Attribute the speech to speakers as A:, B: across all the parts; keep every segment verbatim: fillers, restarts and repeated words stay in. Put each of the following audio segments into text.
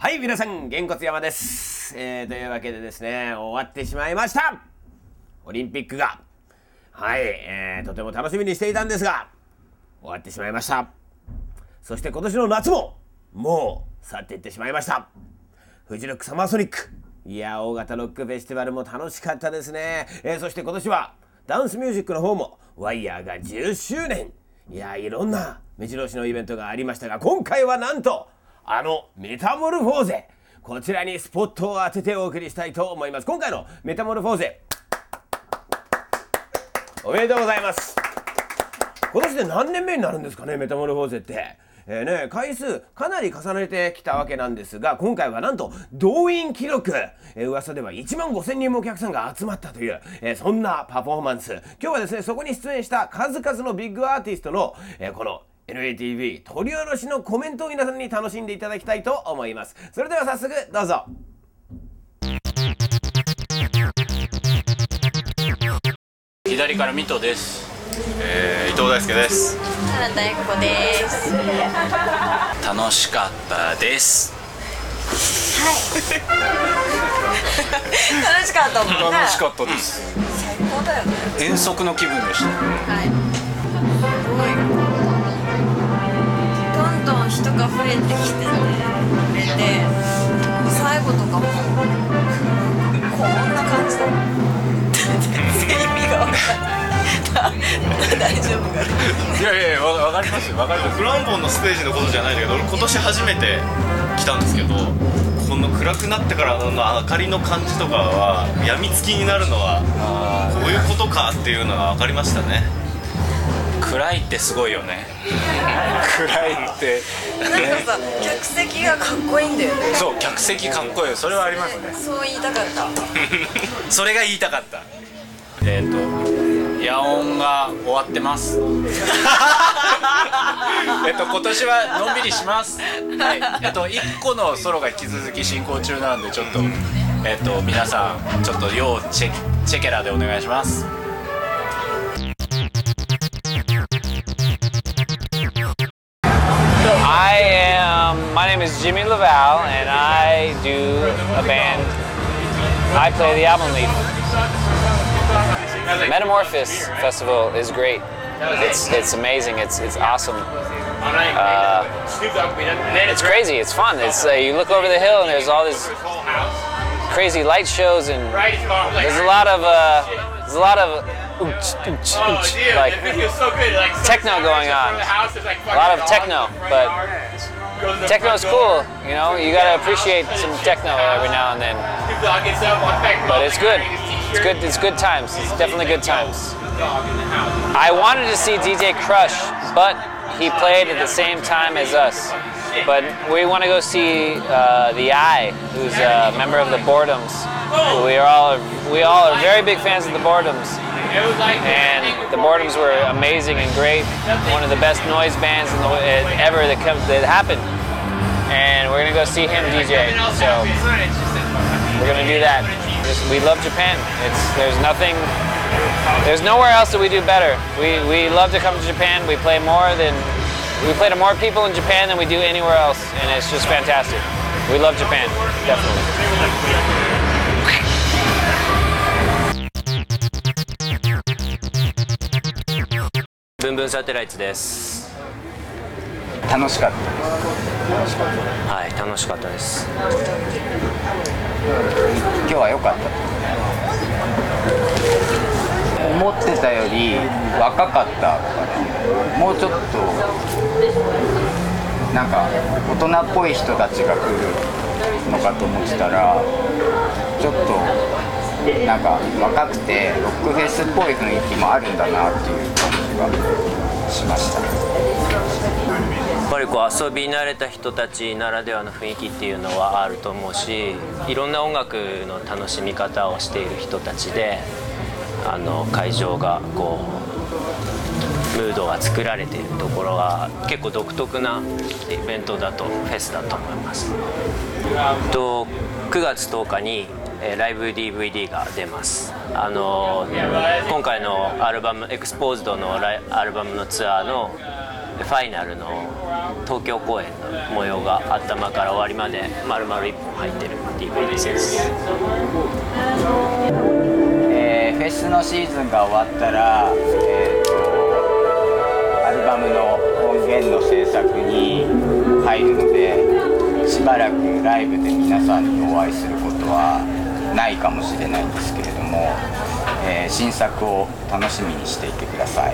A: はい、皆さん、げんこつ山です、えー、というわけでですね、終わってしまいましたオリンピックが。はい、えー、とても楽しみにしていたんですが終わってしまいました。そして今年の夏ももう去っていってしまいました。フジロックサマーソニック、いや大型ロックフェスティバルも楽しかったですね、えー、そして今年はダンスミュージックの方もワイヤーがじゅっしゅうねん、いやいろんな目白押しのイベントがありましたが、今回はなんとあのメタモルフォーゼ、こちらにスポットを当ててお送りしたいと思います。今回のメタモルフォーゼおめでとうございます。今年で何年目になるんですかね、メタモルフォーゼって。えーね、回数かなり重ねてきたわけなんですが、今回はなんと動員記録、えー、噂ではいちまんごせんにんもお客さんが集まったという、えー、そんなパフォーマンス。今日はですね、そこに出演した数々のビッグアーティストの、えー、このエヌエーティーブイ 取り下ろしのコメントを皆さんに楽しんでいただきたいと思います。それでは早速どうぞ。
B: 左から水戸です。
C: えー、伊藤大輔です。
D: 原田恵子です。
B: 楽しかったです。
D: はい楽しかったもんね。
B: 楽しかったです。
D: 最高だよね。
B: 遠足の気分でした。
D: はい。すごい。どんどん人が増えてきてて、で、最後とかもこんな感じだ。全然意味が分からない。大丈夫かな。
B: いやいやいや、わわかりますよ、わかります。
C: フランボンのステージのことじゃないんだけど、俺今年初めて来たんですけど、この暗くなってからの明かりの感じとかはやみつきになるのはこういうことかっていうのが分かりましたね。
B: 暗いってすごいよね。暗いって
D: なんかさ、客席がかっこいいんだよね。
B: そう、客席かっこいい。それはありますね。
D: そう言いたかった
B: それが言いたかった。えっと野音が終わってますえっと今年はのんびりします。はい、えっといっこのソロが引き続き進行中なので、ちょっとえっと皆さんちょっと要チェチェケラでお願いします。
E: I am, my name is Jimmy Laval, and I do a band. I play the album lead. Metamorphosis Festival is great. It's it's amazing. It's it's awesome. Uh, it's crazy. It's fun. It's uh, you look over the hill and there's all these crazy light shows, and there's a lot of uh, there's a lot of ooch, ooch, ooch, like techno going on. A lot of techno, but techno is cool. You know, you gotta appreciate some techno every now and then. But it's good. It's good. It's good times. It's definitely good times. I wanted to see D J Crush, but he played at the same time as us. But we want to go see uh, The Eye, who's a member of the Boredoms. We are all we all are very big fans of the Boredoms, and the Boredoms were amazing and great. One of the best noise bands in the, ever that, come, that happened. And we're gonna go see him D J. So we're gonna do that. Just, we love Japan. It's there's nothing, there's nowhere else that we do better. We we love to come to Japan. We play more than we play to more people in Japan than we do anywhere else, and it's just fantastic. We love Japan, definitely.
F: ブンブンサテライトです。
G: 楽しかった。
F: はい、楽しかったです。
G: 今日は良かった。思ってたより若かったから、もうちょっとなんか大人っぽい人たちが来るのかと思ってたら、ちょっとなんか若くてロックフェスっぽい雰囲気もあるんだなっていう感じがしました。
F: やっぱりこう遊び慣れた人たちならではの雰囲気っていうのはあると思うし、いろんな音楽の楽しみ方をしている人たちで、あの会場がこうムードが作られているところは結構独特なイベントだと、フェスだと思います。とくがつとおかにライブ ディーブイディー が出ます。あの今回のアルバムエクスポーズドのアルバムのツアーのファイナルの東京公演の模様が頭から終わりまで丸々いっぽん入ってる ディーブイディー です。
G: えー、フェスのシーズンが終わったら、えーと、アルバムの音源の制作に入るので、しばらくライブで皆さんにお会いすることはないかもしれないんですけれども、えー、新作を楽しみにしていてください。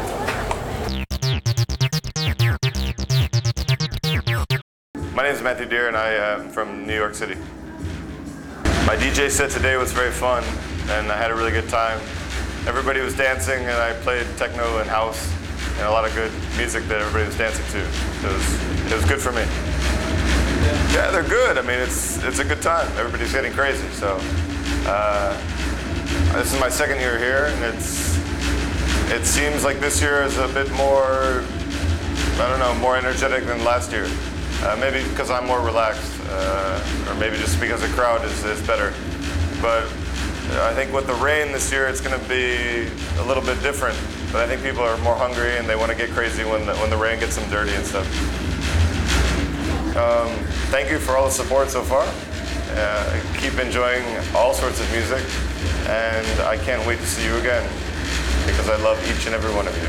H: My name is Matthew Deere and I am from New York City. My D J set today was very fun and I had a really good time. Everybody was dancing and I played techno and house and a lot of good music that everybody was dancing to. It was, it was good for me. Yeah, they're good. I mean, it's it's a good time. Everybody's getting crazy. So uh, this is my second year here and it's it seems like this year is a bit more, I don't know, more energetic than last year. Uh, maybe because I'm more relaxed, uh, or maybe just because the crowd is, is better. But I think with the rain this year, it's going to be a little bit different. But I think people are more hungry and they want to get crazy when the, when the rain gets them dirty and stuff. Um, thank you for all the support so far. Uh, keep enjoying all sorts of music, and I can't wait to see you again because I love each and every one of you.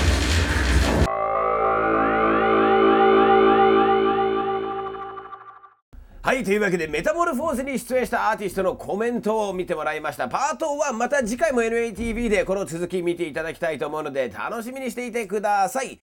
A: はい、というわけでメタモルフォーズに出演したアーティストのコメントを見てもらいました。パートワン、また次回も エヌエーティーブイ でこの続き見ていただきたいと思うので楽しみにしていてください。